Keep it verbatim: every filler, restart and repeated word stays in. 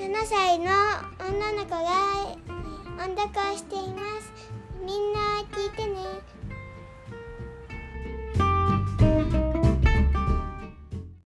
ななさいの女の子が音読をしています。みんな聞いてね。